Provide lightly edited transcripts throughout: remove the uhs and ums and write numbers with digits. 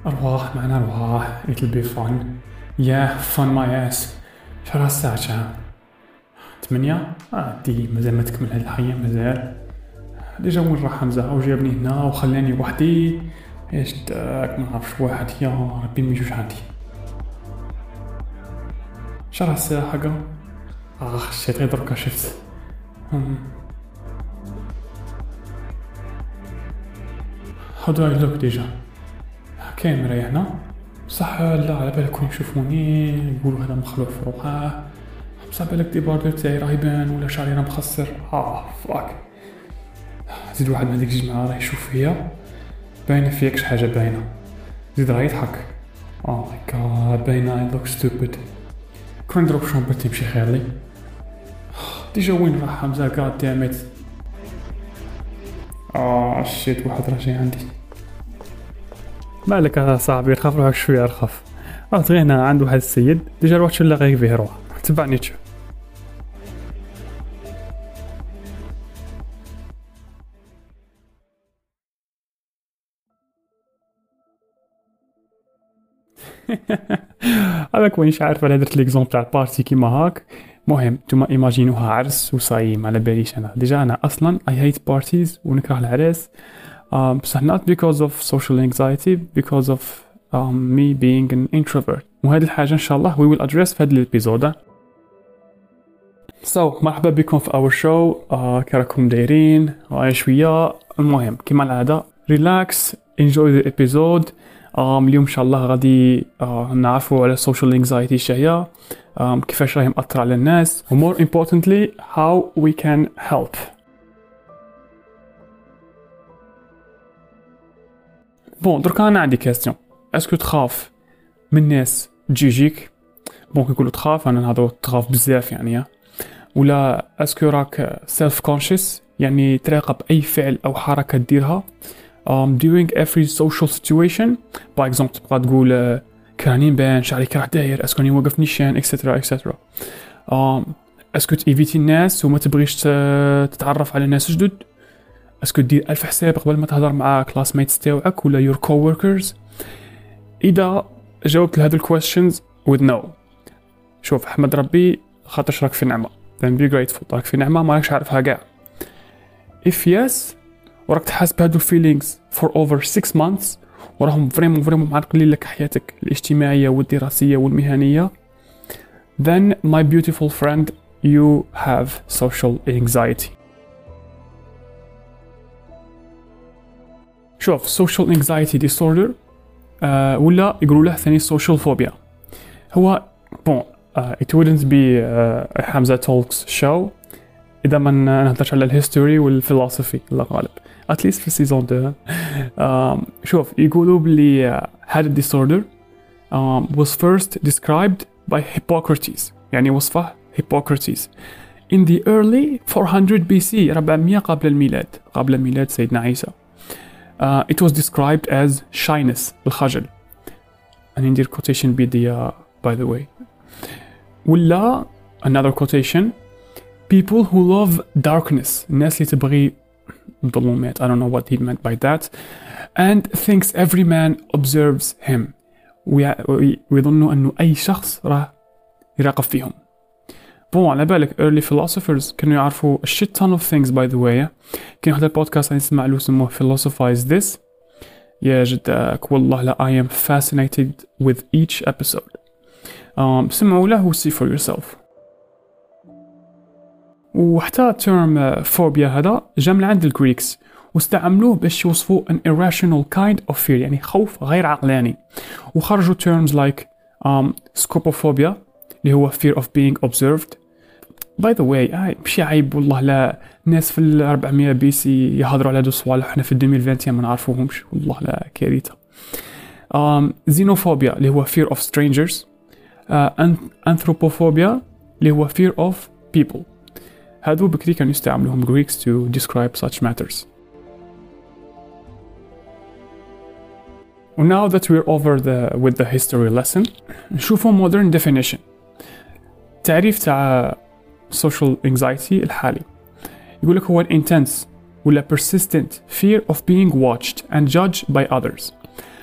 أرواح معنا أرواح. it'll be fun. yeah fun my ass. شرا الساعة شا 8 دي مازال ما تكمل هاد الحياة مازال. ديجا وين راح حمزة وجابني هنا وخلاني وحدي. ايش داك ما نعرفش واحد يا ربي ميجوش عندي. شرا الساعة حقا خشيت غير دركا شفت. how do I look ديجا؟ كاين مريحنا صح؟ لا على بالكم يشوفوني يقولوا هذا مخلوع في روحه، بصح بالك ديباردر تاعي راه يبان ولا شعري راه مخسر. فاك زيد واحد من هذيك الجماعة راه يشوف فيا باينه فيك شي حاجه باينه، زيد راه يضحك. ماي جاد باينه I look stupid. كون نضرب شومبرتي يمشي خير لي. ديجا وين راح حمزة قاعد دامت. شيت واحد راه جاي عندي. مالك يا صاحبي رخف روحك شويه رخف. غينا عند واحد السيد ديجا روح شو لاغي فيه روح تبعني تشوف. هذاك وينش عارف على درت ليكزومبل تاع البارتي كيما هاك. مهم نتوما ايماجينوها عرس وصايم على باليش انا ديجا انا اصلا I hate parties ونكره العراس. بصح not because of social anxiety, because of me being an introvert. وهذه الحاجة إن شاء الله we will address في هذا الابيزود. So مرحبا بكم في our show. كراكم دايرين شوية. المهم كما العادة relax enjoy the episode. اليوم إن شاء الله غادي نعرفوا على social anxiety شهية، كيفاش راهي مأثرة على الناس و more importantly how we can help. بون دركا انا عندي كاستيون. اسكو تخاف من الناس تجيك؟ بون كيقولوا تخاف انا نهضروا تخاف بزاف يعني، ولا اسكو راك سيلف كونشس يعني تراقب اي فعل او حركه ديرها during every social situation. باغ اكزومبل تبقى تقول كراني نبان شعري كرا داير، اسكو راني واقف نيشان اكسترا اكسترا. اسكو تيفيتي الناس وما تبغيش تتعرف على ناس جدد. اسكو دير 1000 حساب قبل ما تهضر مع كلاسميتس تاوعك ولا يور كووركرز. اذا جاوبت لهذو الكويستشنز with no شوف احمد ربي خاطرش راك في نعمه، then be grateful. راك في نعمه ما راكش عارفها كاع. if yes وراك تحس بهذو الفيلينغز for over 6 months وراهم فريمون معرقلين لك حياتك الاجتماعيه والدراسيه والمهنيه، then my beautiful friend you have social anxiety. شوف social anxiety disorder ولا يقولوا له ثاني social phobia. هو bon it wouldn't be حمزة talks show إذا ما نهضرش على الهيستوري والفلسفي الله غالب at least في سيزون 2. شوف يقولوا بلي هذا disorder was first described by Hippocrates، يعني وصفه Hippocrates in the early 400 BC 400 قبل الميلاد سيدنا عيسى. It was described as shyness الخجل. أنا ندير quotation بيديا by the way. ولا another quotation people who love darkness الناس اللي تبغي الظلمات. I don't know what he meant by that. And thinks every man observes him. ويظنوا أنه أي شخص راه يراقب فيهم. بون على بالك early philosophers كانوا يعرفوا a shit ton of things by the way. كاين واحد البودكاست نسمع له اسمه philosophize this. يا جدك والله لا I am fascinated with each episode. سمعوا له و see for yourself. وحتى term phobia هذا جا من عند الجريكس واستعملوه باش يوصفوا an irrational kind of fear يعني خوف غير عقلاني، وخرجوا terms like scopophobia اللي هو fear of being observed. by the way ماشي عيب والله لا ناس في 400 بي سي يهضروا على هادو الصوالح احنا في 2020 ما نعرفوهمش والله لا كارثه. xenophobia اللي هو fear of strangers. anthropophobia اللي هو fear of people. هادو بكري كانوا يستعملوهم Greeks to describe such matters. And now that we're over with the history lesson نشوفوا modern definition. تعريف تاع social anxiety الحالي يقول لك هو an intense ولا persistent fear of being watched and judged by others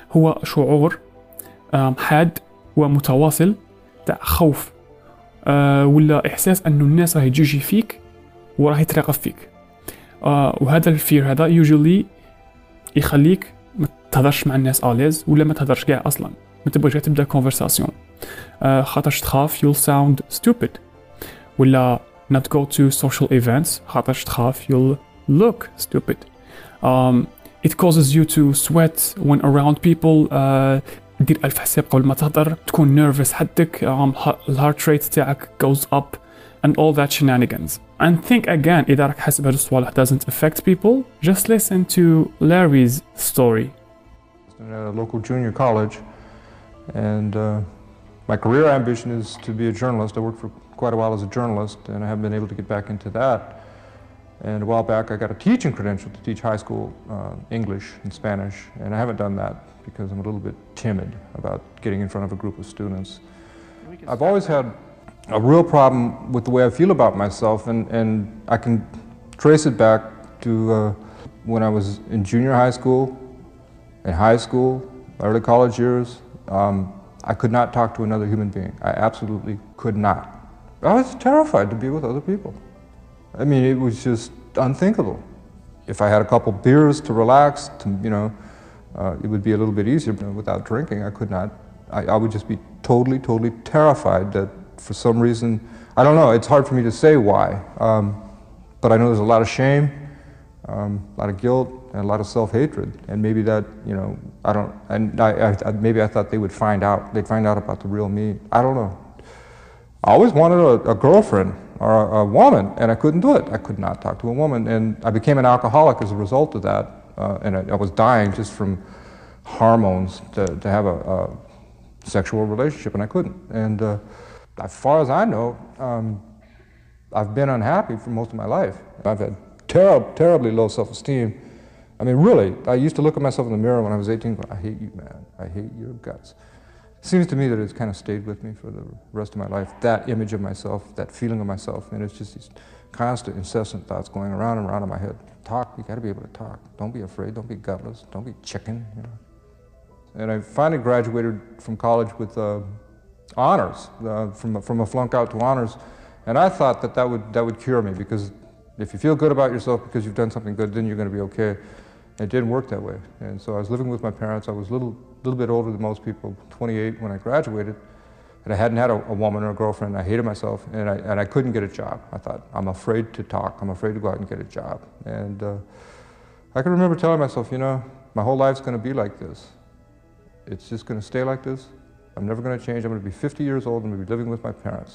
هو شعور حاد ومتواصل تاع خوف ولا إحساس أنه الناس راهي تجي فيك وراهي تراقب فيك. وهذا الفير هذا usually يخليك ما تهضرش مع الناس آليز ولا ما تهضرش كاع أصلا، ما تبغيش تبدا conversation خاطرش تخاف you'll sound stupid، ولا not go to social events خاطرش تخاف you'll look stupid. It causes you to sweat when around people. دير ألف حساب قبل ما تهضر، تكون nervous حدك، الهارت rate تاعك goes up and all that shenanigans. And think again إذا راك حاسب هاد الصوالح doesn't affect people, just listen to Larry's story. At a local junior college, and my career ambition is to be a journalist. I worked for quite a while as a journalist, and I haven't been able to get back into that. And a while back I got a teaching credential to teach high school English and Spanish, and I haven't done that because I'm a little bit timid about getting in front of a group of students. I've always had a real problem with the way I feel about myself, and I can trace it back to when I was in junior high school, in high school, early college years. I could not talk to another human being. I absolutely could not. I was terrified to be with other people. I mean, it was just unthinkable. If I had a couple beers to relax, it would be a little bit easier. But without drinking, I could not. I would just be totally terrified that for some reason, I don't know, it's hard for me to say why. But I know there's a lot of shame, a lot of guilt, and a lot of self-hatred. And maybe that, maybe I thought they would find out. They'd find out about the real me. I don't know. I always wanted a girlfriend or a woman, and I couldn't do it. I could not talk to a woman, and I became an alcoholic as a result of that. And I was dying just from hormones to have a sexual relationship, and I couldn't. And as far as I know, I've been unhappy for most of my life. I've had terribly low self-esteem. I mean, really, I used to look at myself in the mirror when I was 18 going, I hate you, man. I hate your guts. It seems to me that it's kind of stayed with me for the rest of my life, that image of myself, that feeling of myself, and it's just these constant, incessant thoughts going around and around in my head. Talk, you gotta be able to talk. Don't be afraid, don't be gutless, don't be chicken, And I finally graduated from college with honors, from a flunk out to honors, and I thought that would cure me, because if you feel good about yourself because you've done something good, then you're gonna be okay. It didn't work that way, and so I was living with my parents. I was a little bit older than most people, 28 when I graduated, and I hadn't had a woman or a girlfriend. I hated myself, and I couldn't get a job. I thought, I'm afraid to talk. I'm afraid to go out and get a job. And I can remember telling myself, my whole life's going to be like this. It's just going to stay like this. I'm never going to change. I'm going to be 50 years old. I'm going to be living with my parents.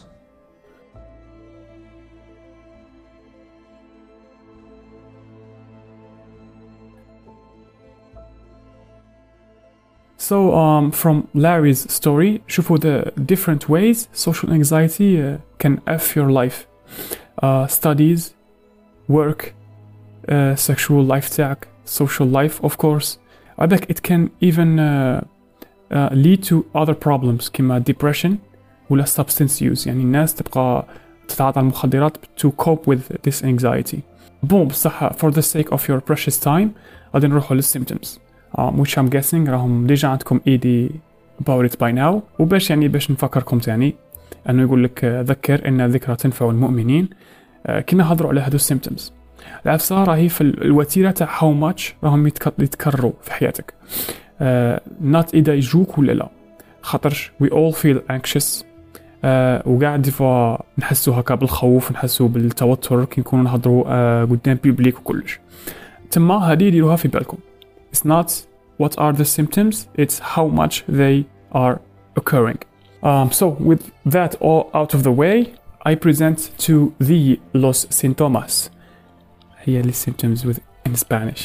So from Larry's story, شوفوا the different ways social anxiety can F your life. Studies, work, sexual life تاعك, social life of course. عندك it can even lead to other problems كما depression ولا substance use. يعني الناس تبقى تتعاطى المخدرات to cope with this anxiety. بصح for the sake of your precious time غادي نروحوا للsymptoms. which I'm guessing راهم ديجا عندكم ايدي about it by now. وباش نفكركم تاني انه يقول لك ذكر ان الذكرى تنفع المؤمنين. كنا هضروا على هادو symptoms. العفسة راهي في الوتيرة تاع how much راهم يتكرروا في حياتك. not إذا يجوك ولا لا، خاطرش we all feel anxious. وقاعد ديفا نحسوا هكا بالخوف، نحسوا بالتوتر كي نكونوا نهضروا قدام بيبليك وكلش. تما هذه ديروها في بالكم. It's not what are the symptoms, it's how much they are occurring. So with that all out of the way, I present to thee los síntomas. هي the symptoms with in Spanish.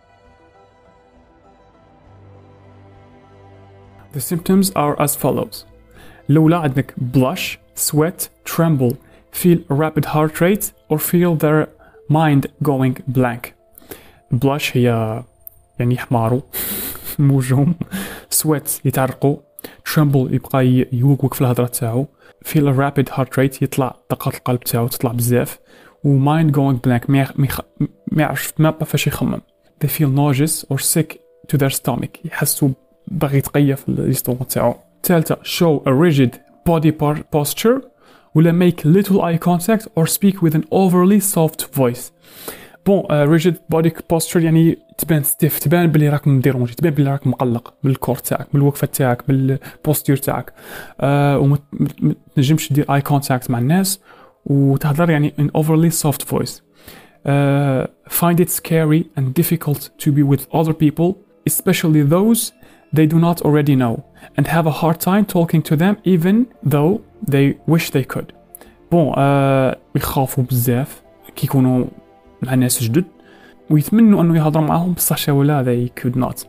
The symptoms are as follows. الأولى عندك blush, sweat, tremble, feel a rapid heart rate, or feel their mind going blank. blush هي يعني يحماروا موجهم. sweat يتعرقوا. tremble يبقى يوقف في الهضرة تاعو. feel a rapid heart rate يطلع دقات القلب تاعو تطلع بزاف. و mind going blank ما يعرفش ما فاش يخمم. they feel nauseous or sick to their stomach يحسوا باغي يتقيف الاسطوره تاعو. الثالثه show a rigid body posture ولا make little eye contact or speak with an overly soft voice. بون rigid body posture يعني تبان ستيف، تبان بلي راك مديرونجي، تبان بلي راك مقلق بالكور تاعك، بالوقفه تاعك، بالبوستير تاعك، وما تنجمش دير اي كونتاكت مع الناس وتهضر يعني in overly soft voice. Find it scary and difficult to be with other people, especially those they do not already know, and have a hard time talking to them even though they wish they could. بون يخافوا بزاف كي يكونوا مع ناس جدد ويتمنوا انه يهضروا معاهم بصح شاولا they could not.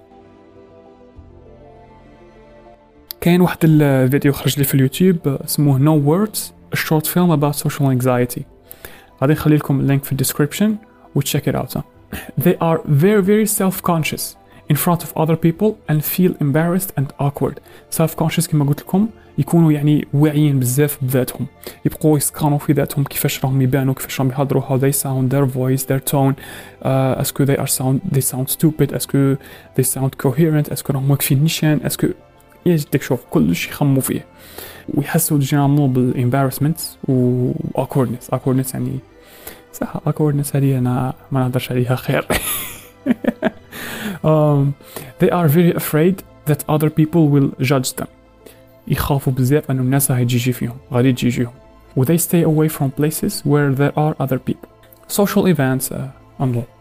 كاين واحد الفيديو خرج لي في اليوتيوب اسمه No Words, a short film about social anxiety. غادي نخلي لكم اللينك في الديسكريبشن و check it out. They are very very self-conscious in front of other people and feel embarrassed and awkward. Self-conscious كما قلت لكم يكونوا يعني واعيين بزاف بذاتهم، يبقوا يسكانوا في ذاتهم كيفاش راهم يبانوا، كيفاش راهم يهضروا، how they sound, their voice, their tone, اسكو they sound stupid, اسكو they sound coherent, اسكو راهم واقفين نيشان، اسكو يجدك شوف كلش يخموا فيه ويحسوا جينيرالمون بالامبارسمنت و awkwardness يعني صح awkwardness هذه انا ما نهضرش عليها خير. They are very afraid that other people will judge them. يخافوا بزاف أنه الناس غادي تجيهم. و they stay away from places where there are other people. Social events and all.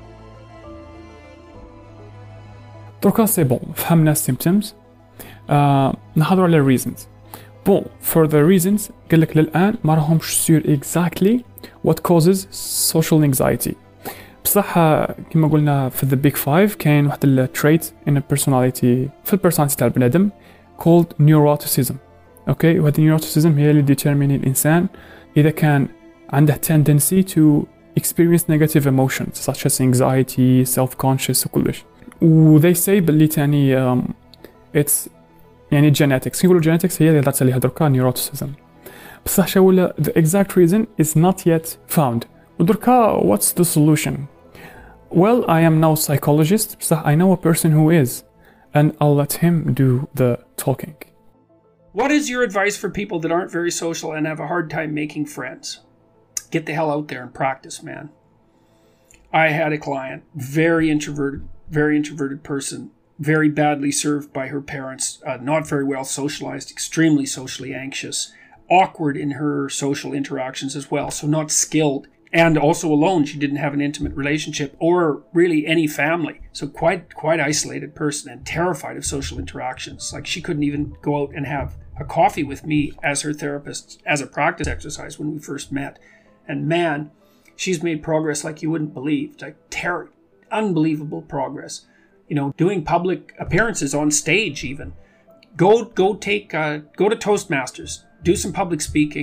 دركا سي بون فهمنا symptoms. نهضروا على reasons. بون for the reasons قالك للآن ما راهمش sure exactly what causes social anxiety. بصح كما قلنا في the big five كاين واحد التريت in a personality في البرسوناليتي تاع البنادم called neuroticism. اوكي وهذه neuroticism هي اللي determine الانسان اذا كان عنده tendency to experience negative emotions such as anxiety, self-conscious وكلش. و they say باللي تاني it's يعني genetics. يقولوا genetics هي اللي هضرت عليها دركا neuroticism. بصح شاولا the exact reason is not yet found. ودركا what's the solution? Well, I am no psychologist, بصح I know a person who is, and I'll let him do the talking. What is your advice for people that aren't very social and have a hard time making friends? Get the hell out there and practice, man. I had a client, very introverted person, very badly served by her parents, not very well socialized, extremely socially anxious, awkward in her social interactions as well, so not skilled. And also alone, she didn't have an intimate relationship or really any family. So quite isolated person and terrified of social interactions. Like she couldn't even go out and have a coffee with me as her therapist as a practice exercise when we first met. And man, she's made progress like you wouldn't believe. Like unbelievable progress. You know, doing public appearances on stage even. Go to Toastmasters. Do some public speaking.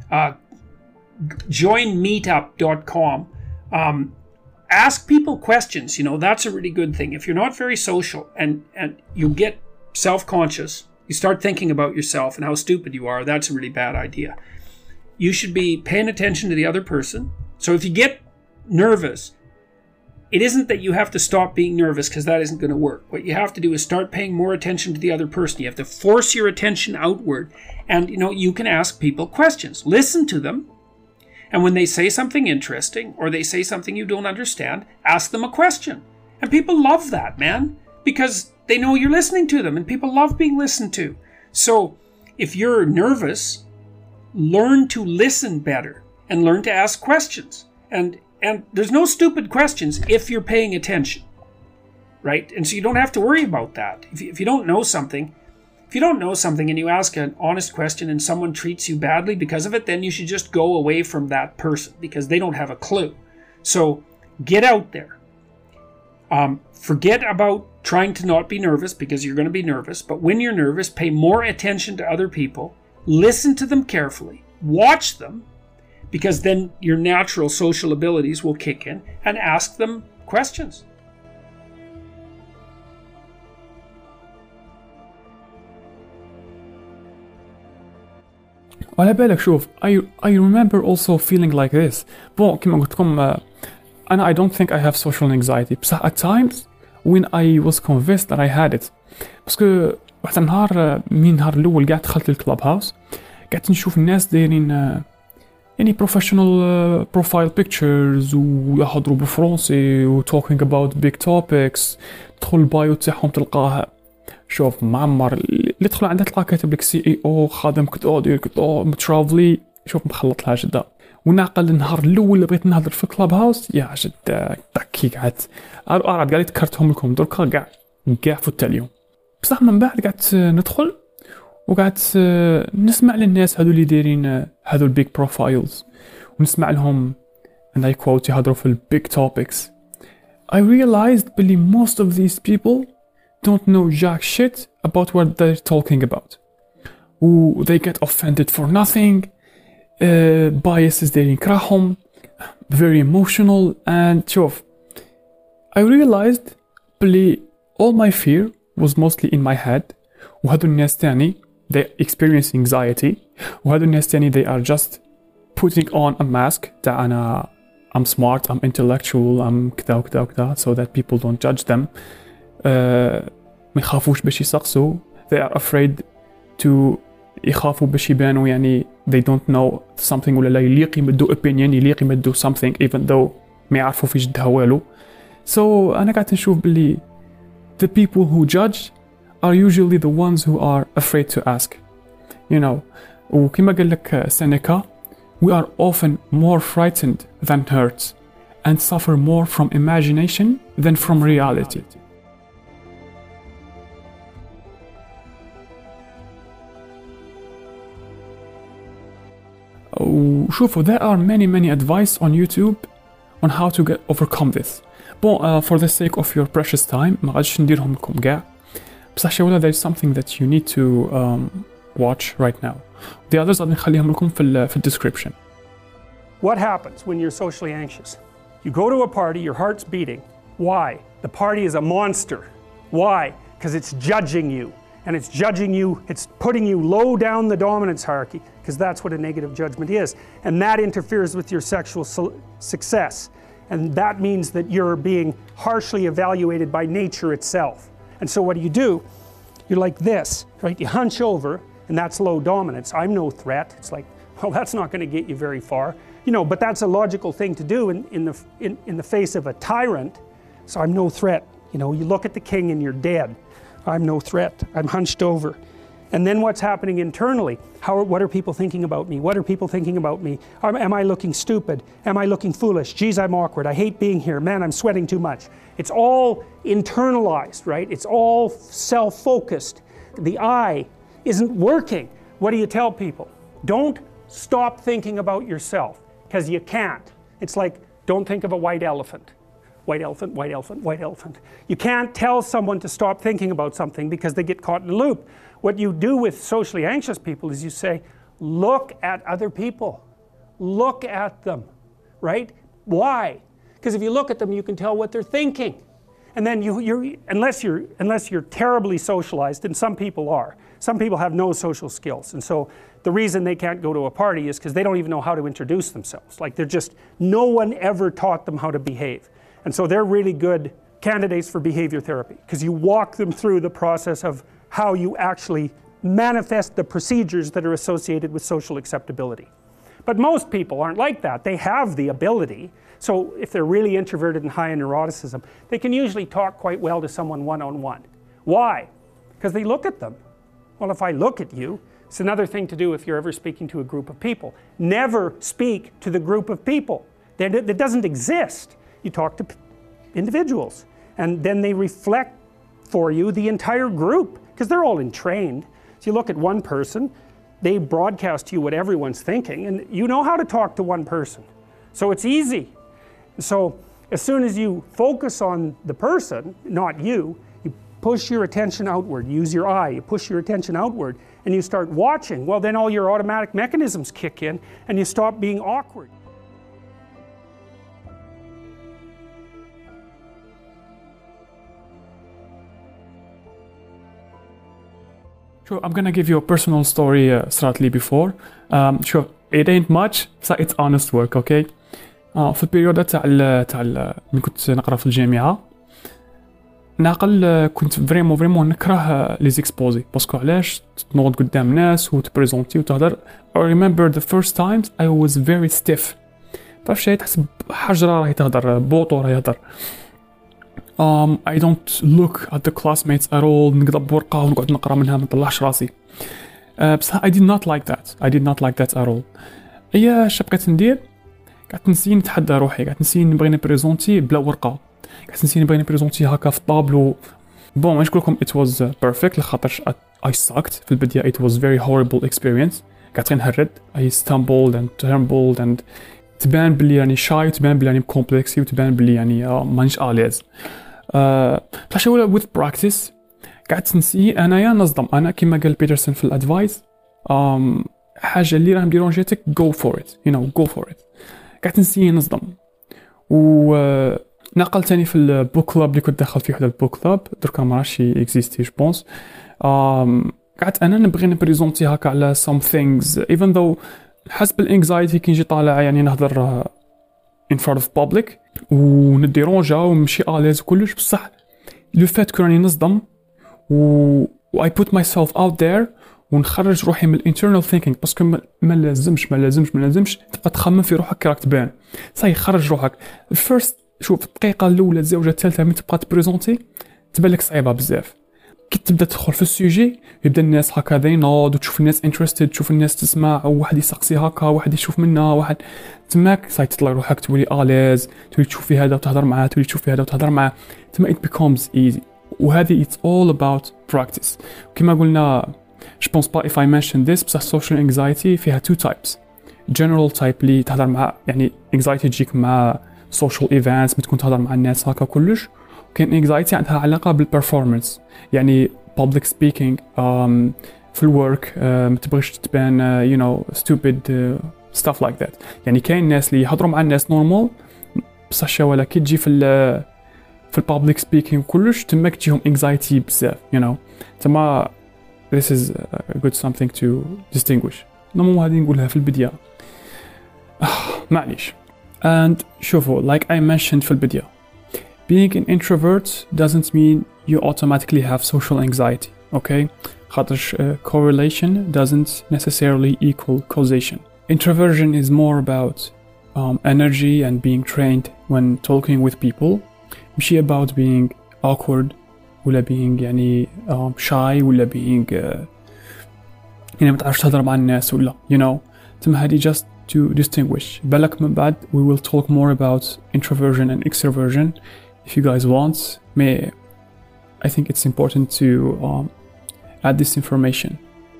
Join meetup.com. Ask people questions. You know, that's a really good thing. If you're not very social and you get self-conscious, you start thinking about yourself and how stupid you are, that's a really bad idea. You should be paying attention to the other person. So if you get nervous, it isn't that you have to stop being nervous because that isn't going to work. What you have to do is start paying more attention to the other person. You have to force your attention outward. And, you know, you can ask people questions. Listen to them. And when they say something interesting or they say something you don't understand, ask them a question. And people love that, man, because they know you're listening to them and people love being listened to. So if you're nervous, learn to listen better and learn to ask questions. And there's no stupid questions if you're paying attention, right? And so you don't have to worry about that. If you don't know something, and you ask an honest question and someone treats you badly because of it, then you should just go away from that person because they don't have a clue. So get out there. Forget about trying to not be nervous because you're going to be nervous. But when you're nervous, pay more attention to other people. Listen to them carefully. Watch them because then your natural social abilities will kick in, and ask them questions. وعلى بالك شوف I remember also feeling like this. بون كما قلت لكم أنا I don't think I have social anxiety. بصح at times when I was convinced that I had it باسكو واحد النهار من النهار الاول قاعد دخلت للكلاب هاوس قعدت نشوف الناس دايرين يعني بروفيشنال بروفايل بيكتشرز ويهضروا بالفرنسي و talking about big topics. تدخل البايو تاعهم تلقاه شوف معمر اللي تدخل عنده تلقاه كاتب لك CEO خادم كذا دير كذا مترافلي شوف مخلط لها جدا. ونعقل النهار الاول اللي بغيت نهضر في الكلاب هاوس يا جد كي قعدت قاعد ذكرتهم لكم دركا كاع فوت اليوم. بصح من بعد قعدت ندخل وقعدت نسمع للناس هذو اللي دايرين هذو البيج بروفايلز ونسمع لهم and I quote يهضروا في البيج topics. I realized بلي most of these people don't know jack shit about what they're talking about. They get offended for nothing. Biases دايرين كراهم. Very emotional and شوف I realized بلي all my fear was mostly in my head. وهذو الناس تاني they experience anxiety. وهذو الناس تاني they are just putting on a mask تاع أنا I'm smart, I'm intellectual, I'm كذا وكذا وكذا so that people don't judge them. ما يخافوش باش يسقسوا. They are afraid to يخافوا باش يبانوا يعني they don't know something ولا لا يليق يمدوا opinion يليق يمدوا something even though ما يعرفوا في جدها والو. So أنا قاعد نشوف باللي the people who judge are usually the ones who are afraid to ask. You know, وكما قال لك سينيكا we are often more frightened than hurt and suffer more from imagination than from reality. وشوفوا there are many advice on YouTube on how to overcome this. Bon, for the sake of your precious time ما غاديش نديرهم لكم كاع بصح شولا there is something that you need to watch right now. The others غادي نخليهم لكم في description. What happens when you're socially anxious? You go to a party, your heart's beating. Why? The party is a monster. Why? Because it's judging you. And it's judging you, it's putting you low down the dominance hierarchy, because that's what a negative judgment is. And that interferes with your sexual success. And that means that you're being harshly evaluated by nature itself. And so what do? You're like this, right? You hunch over, and that's low dominance. I'm no threat. It's like, well, that's not going to get you very far. You know, but that's a logical thing to do in the face of a tyrant. So I'm no threat. You know, you look at the king and you're dead. I'm no threat. I'm hunched over. And then what's happening internally? What are people thinking about me? What are people thinking about me? Am I looking stupid? Am I looking foolish? Geez, I'm awkward. I hate being here. Man, I'm sweating too much. It's all internalized, right? It's all self-focused. The I isn't working. What do you tell people? Don't stop thinking about yourself, because you can't. It's like, don't think of a white elephant. White elephant, white elephant, white elephant. You can't tell someone to stop thinking about something because they get caught in a loop. What you do with socially anxious people is you say, look at other people. Look at them, right? Why? Because if you look at them, you can tell what they're thinking. And then unless you're terribly socialized, and some people are. Some people have no social skills. And so the reason they can't go to a party is because they don't even know how to introduce themselves. Like no one ever taught them how to behave. And so they're really good candidates for behavior therapy, because you walk them through the process of how you actually manifest the procedures that are associated with social acceptability. But most people aren't like that. They have the ability. So if they're really introverted and high in neuroticism, they can usually talk quite well to someone one-on-one. Why? Because they look at them. Well, if I look at you, it's another thing to do if you're ever speaking to a group of people. Never speak to the group of people. That doesn't exist. You talk to individuals, and then they reflect for you the entire group, because they're all entrained. So you look at one person, they broadcast to you what everyone's thinking, and you know how to talk to one person. So it's easy. So as soon as you focus on the person, not you, you push your attention outward, use your eye, you push your attention outward, and you start watching. Well, then all your automatic mechanisms kick in, and you stop being awkward. Sure, I'm gonna give you a personal story صارت لي before. Sure, it ain't much, so it's honest work, okay? في البيريود تاع من كنت نقرا في الجامعة ناقل كنت فريمون نكره لي زيكسبوزي باسكو علاش تنوض قدام ناس وتبريزونتي وتهضر. I remember the first times I was very stiff. تعرف شي تحسب حجرة راهي تهضر، بوطو راهي يهضر. I don't look at the classmates at all. نقضب ورقة ونقعد نقرا منها ما نطلعش راسي. بصح I did not like that at all. هي اش بقيت ندير؟ قعدت نسي نتحدى روحي، قعدت نسي نبغي نبريزونتي بلا ورقة، قعدت نسي نبغي نبريزونتي هكا في الطابلو. بون ماشي نقولكم it was perfect لخاطرش I sucked في البداية. It was very horrible experience. قعدت غير نهرد. I stumbled and trembled and تبان بلي يعني شاي، تبان بلي يعني كومبلكسي، وتبان بلي يعني مانيش اليز. بصح ولا with practice قعدت نسي انايا نصدم. انا كيما قال بيترسون في الادفايس حاجه اللي راه مديرونجيتك go for it, go for it. قعدت نسي نصدم. و نقل تاني في البوك كلاب اللي كنت داخل فيه، وحده البوك كلاب دركا ما راهش اكزيستي جو بونس. قعدت انا نبغي نبريزونتي هكا على some things even though حسب الانكزايتي كي نجي طالع يعني نهضر in front of public ونديرونجا ومشي اليز وكلش. بصح لو فات كراني نصدم و I put myself out there ونخرج روحي من الانترنال ثينكينغ، باسكو ما لازمش تبقى تخمم في روحك كي راك تبان. صاي خرج روحك الفيرست. شوف الدقيقه الاولى الزوجه الثالثه من تبقى تبريزونتي تبان لك صعيبه بزاف. كي تبدا تدخل في السوجي يبدا الناس هكا ينوض، وتشوف الناس انترستد، تشوف الناس تسمع، وواحد يسقسي هكا، واحد يشوف منا، واحد تماك صاي تطلع روحك تولي اليز، تولي تشوف في هذا وتهضر معاه، تولي تشوف في هذا وتهضر معاه، تما it becomes easy. وهذه it's all about practice. كما قلنا je pense pas if I mentioned this بصح social anxiety فيها two types. general type اللي تهضر مع يعني anxiety تجيك مع social events، بتكون تهضر مع الناس هكا كلش. كاين anxiety عندها علاقة بالperformance، يعني public speaking في الورك، ما تبغيش تبان stupid stuff like that. يعني كاين ناس اللي يهضروا مع الناس normal بصح شوالا كي تجي في البابليك سبيكينغ كلش تماك تجيهم anxiety بزاف تما this is a good something to distinguish. نمو هذه نقولها في البداية معليش. and شوفوا like I mentioned في البداية being an introvert doesn't mean you automatically have social anxiety, okay? خاطرش correlation doesn't necessarily equal causation. Introversion is more about energy and being trained when talking with people. مشي about being awkward ولا being يعني shy ولا being يعني ما تعرفش تهضر مع الناس ولا تما هذه just to distinguish. بالك من بعد we will talk more about introversion and extroversion if you guys want. I think it's important to add this information.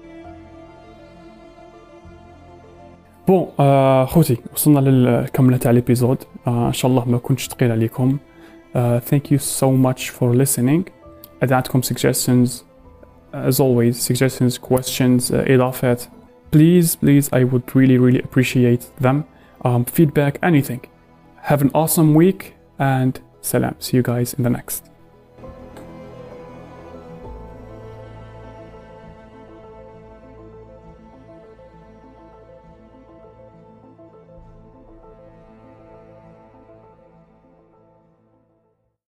بون خوتي وصلنا للكملة تاع الابيزود. ان شاء الله ما كنتش ثقيل عليكم. Thank you so much for listening. إذا عندكم suggestions as always, suggestions, questions, إضافات, please I would really appreciate them. Feedback, anything. Have an awesome week and salam. See you guys in the next.